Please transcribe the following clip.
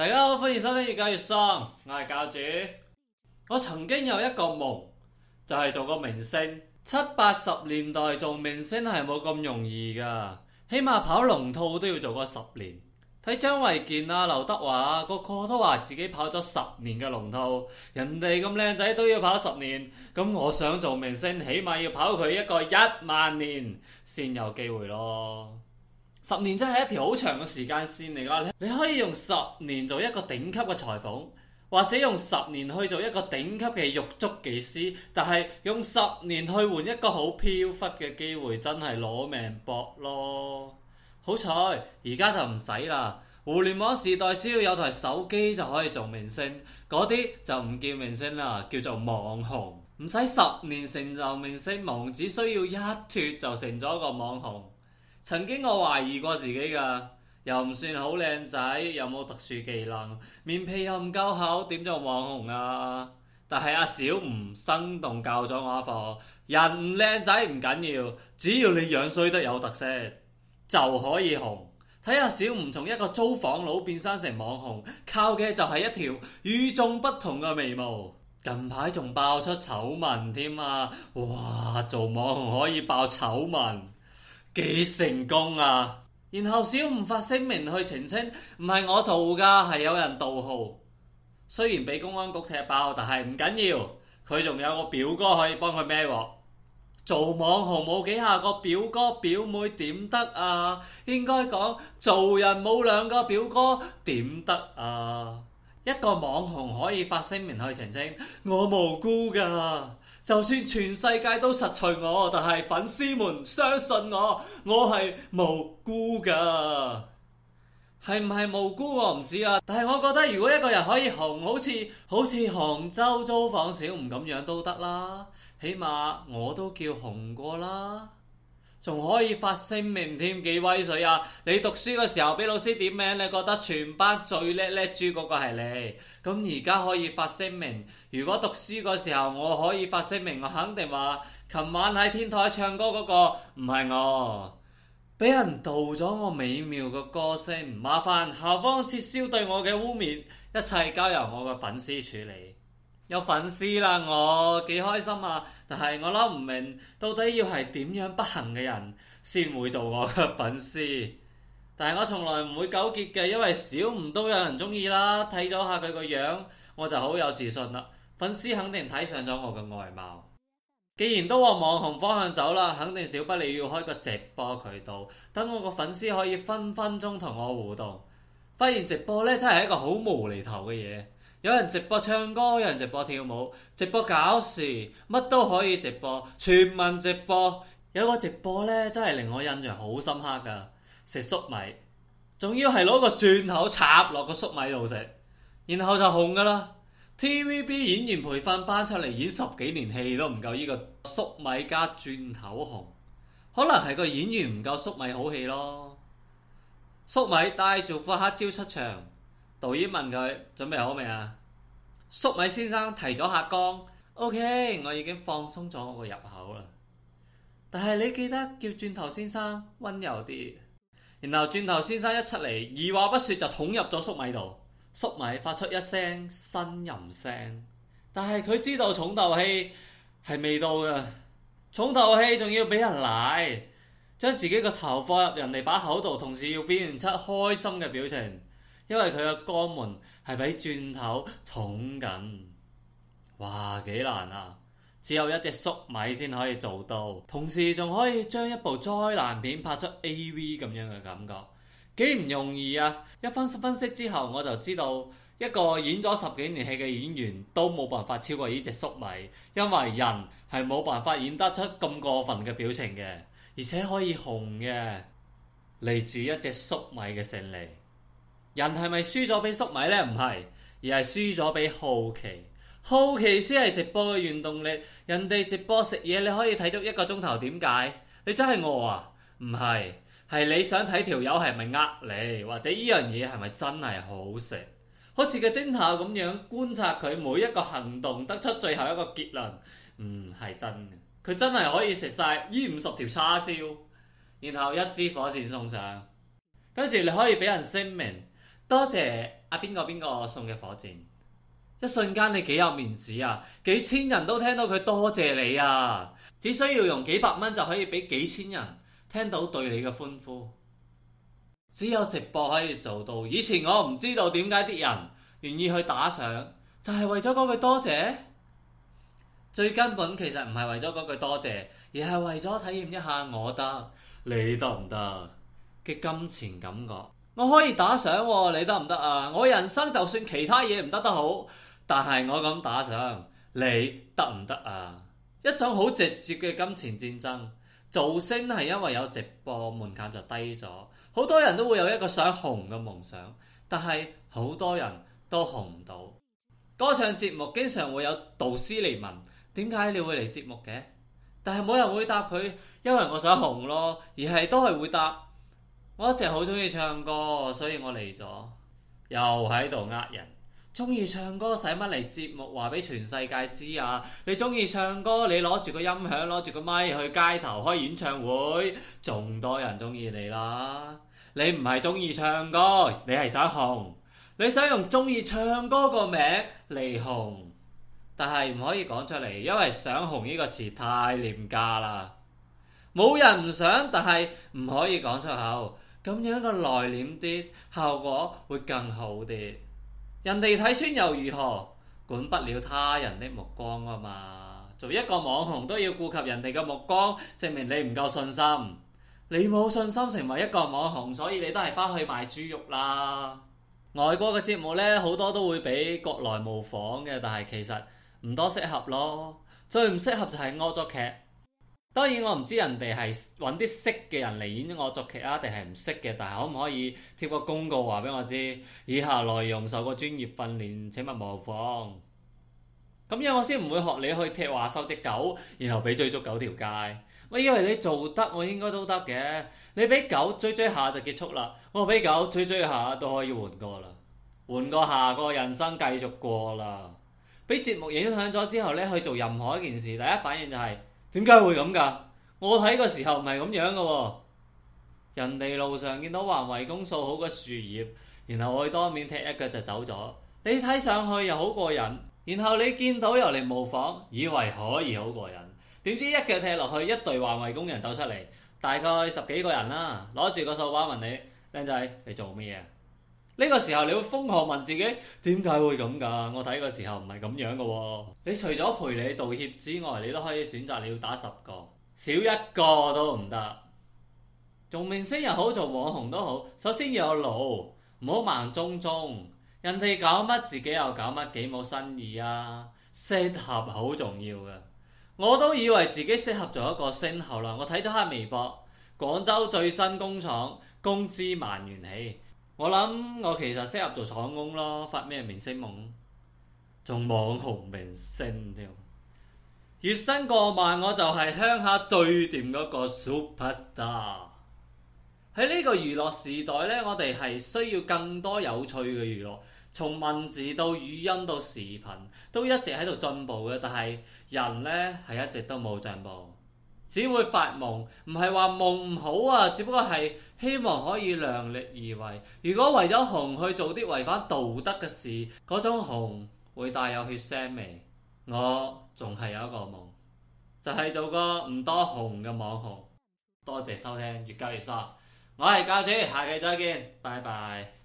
大家好，歡迎收聽越教越喪，我係教主。我曾經有一個夢，就係做個明星。70-80年代做明星係冇咁容易噶，起碼跑龍套都要做個10年。睇張衛健啊、劉德華啊，個個都話自己跑咗10年嘅龍套，人哋咁靚仔都要跑10年，咁我想做明星，起碼要跑佢一個10000年先有機會咯。10年真係一條好長嘅時間線嚟㗎，你可以用10年做一個頂級嘅裁縫，或者用10年去做一個頂級嘅玉足技師，但係用10年去換一個好飄忽嘅機會，真係攞命搏咯。好彩而家就唔使啦，互聯網時代只要有台手機就可以做明星，嗰啲就唔叫明星啦，叫做網紅。唔使10年成就明星夢，只需要一脫就成咗個網紅。曾經我懷疑過自己㗎，又唔算好靚仔，又冇特殊技能，面皮又唔夠厚，點做網紅啊？但係阿小吳生動教咗我一課，人唔靚仔唔緊要，只要你樣衰得有特色就可以紅。睇下小吳從一個租房佬變身成網紅，靠嘅就係一條與眾不同嘅眉毛。近排仲爆出醜聞添啊！哇，做網紅可以爆醜聞，幾成功啊！然後小吳發聲明去澄清，唔係我做㗎，係有人盜號。雖然俾公安局踢爆，但係唔緊要，佢仲有個表哥可以幫佢孭鑊。做網紅冇幾下個表哥表妹點得啊？應該講做人冇2個表哥點得啊？一個網紅可以發聲明去澄清，我無辜噶，就算全世界都實錘我，但係粉絲們相信我，我係無辜噶。係唔係無辜我唔知啦，但係我覺得如果一個人可以紅，好似杭州租房小吳咁樣都得啦，起碼我都叫紅過啦。仲可以發聲明添，幾威水啊！你讀書嘅時候俾老師點名，你覺得全班最叻豬嗰個係你，咁而家可以發聲明。如果讀書嗰時候我可以發聲明，我肯定話琴晚喺天台唱歌嗰個唔係我，俾人盜咗我美妙嘅歌聲，麻煩校方撤銷對我嘅污衊，一切交由我嘅粉絲處理。有粉絲啦，我幾開心啊！但係我諗唔明，到底要係點樣不幸嘅人先會做我嘅粉絲？但係我從來唔會糾結嘅，因為小吳都有人中意啦。睇咗下佢個樣，我就好有自信啦。粉絲肯定睇上咗我嘅外貌。既然都往網紅方向走啦，肯定少不了要開個直播渠道，等我個粉絲可以分分鐘同我互動。發現直播呢真係一個好無厘頭嘅嘢。有人直播唱歌，有人直播跳舞，直播搞事，乜都可以直播，全民直播。有個直播呢，真係令我印象好深刻噶，食粟米，仲要係攞個鑽頭插落個粟米度食，然後就紅噶啦。TVB 演員培訓班出嚟演10幾年戲都唔夠呢個粟米加鑽頭紅，可能係個演員唔夠粟米好戲咯。粟米帶住副黑椒出場。導演問佢準備好未啊？粟米先生提咗下缸 ，OK， 我已經放鬆咗我個入口啦。但係你記得叫鑽頭先生溫柔啲。然後鑽頭先生一出嚟，二話不說就捅入咗粟米度，粟米發出一聲呻吟聲。但係佢知道重頭戲係未到嘅，重頭戲仲要俾人奶，將自己個頭放入人哋把口度，同時要表現出開心嘅表情。因為佢嘅肛門係俾鑽頭捅緊，哇幾難啊！只有一隻粟米先可以做到，同時仲可以將一部災難片拍出 AV 咁樣嘅感覺，幾唔容易啊！一分析之後，我就知道一個演咗10幾年戲嘅演員都冇辦法超過呢隻粟米，因為人係冇辦法演得出咁過分嘅表情嘅，而且可以紅嘅，嚟自一隻粟米嘅勝利。人係咪輸咗俾粟米呢？唔係，而係輸咗俾好奇。好奇先係直播嘅原動力。人哋直播食嘢，你可以睇足1個鐘頭，點解？你真係餓啊？唔係，係你想睇條友係咪呃你，或者呢樣嘢係咪真係好食？好似個偵探咁樣觀察佢每一個行動，得出最後一個結論。係真嘅，佢真係可以食晒呢50條叉燒，然後1支火箭送上，跟住你可以俾人聲明。多謝邊個送嘅火箭，一瞬間你幾有面子啊！幾千人都聽到佢多謝你啊！只需要用幾百蚊就可以俾幾千人聽到對你嘅歡呼。只有直播可以做到。以前我唔知道點解啲人願意去打賞，就係為咗嗰句多謝。最根本其實唔係為咗嗰句多謝，而係為咗體驗一下我得你得唔得嘅金錢感覺。我可以打賞，你得唔得啊？我人生就算其他嘢唔得得好，但係我咁打賞，你得唔得啊？一種好直接嘅金錢戰爭。造星係因為有直播，門檻就低咗，好多人都會有一個想紅嘅夢想，但係好多人都紅唔到。歌唱節目經常會有導師嚟問，點解你會嚟節目嘅？但係冇人會答佢，因為我想紅咯，而係都係會答，我一直好中意唱歌，所以我嚟咗。又喺度呃人，中意唱歌使乜嚟節目話俾全世界知啊？你中意唱歌，你攞住個音響，攞住個咪去街頭開演唱會，仲多人中意你啦。你唔係中意唱歌，你係想紅，你想用中意唱歌個名嚟紅，但係唔可以講出嚟，因為想紅呢個詞太廉價啦。冇人唔想，但係唔可以講出口，咁樣個內斂啲，效果會更好啲。人哋睇穿又如何？管不了他人的目光啊嘛！做一個網紅都要顧及人哋嘅目光，證明你唔夠信心。你冇信心成為一個網紅，所以你都係返去賣豬肉啦。外國嘅節目呢，好多都會俾國內模仿嘅，但係其實唔多適合咯。最唔適合就係惡作劇。當然我唔知人哋係揾啲識嘅人嚟演惡作劇啊，定係唔識嘅，但係可唔可以貼個公告話俾我知，以下內容受過專業訓練，請勿模仿。咁樣我先唔會學你去踢話收隻狗，然後俾追逐狗條街。我以為你做得，我應該都得嘅。你俾狗追下就結束啦，我俾狗追下都可以換過啦，換過下個人生繼續過啦。俾節目影響咗之後呢，去做任何一件事，第一反應就係點解會咁㗎？我睇個時候唔係咁樣嘅喎。人哋路上見到環衛工掃好個樹葉，然後我去當面踢一腳就走咗。你睇上去又好過癮，然後你見到又嚟模仿，以為可以好過癮，點知一腳踢落去，一隊環衛工人走出嚟，大概10幾個人啦，攞住個掃把問你：靚仔，你做乜嘢？呢個時候你會瘋狂問自己點解會咁㗎？我睇個時候唔係咁樣嘅喎。你除咗賠你道歉之外，你都可以選擇你要打10個，少一個都唔得。做明星又好，做網紅都好，首先要有腦，唔好盲中中。人哋搞乜自己又搞乜，幾冇新意啊！適合好重要嘅。我都以為自己適合做一個星，後來我睇咗下微博，廣州最新工廠工資萬元起。我諗我其實適合做廠工咯，發咩明星夢？仲網紅明星添，月薪過萬我就係鄉下最掂嗰個 superstar。喺呢個娛樂時代呢，我哋係需要更多有趣嘅娛樂，從文字到語音到視頻都一直喺度進步嘅，但係人呢係一直都冇進步。只會發夢，唔係話夢唔好啊，只不過係希望可以量力而為。如果為咗紅去做啲違反道德嘅事，嗰種紅會帶有血腥味。我仲係有一個夢，就係做個唔多紅嘅網紅。多謝收聽，越教越爽。我係教主，下期再見，拜拜。